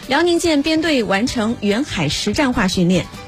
辽宁舰编队完成远海实战化训练。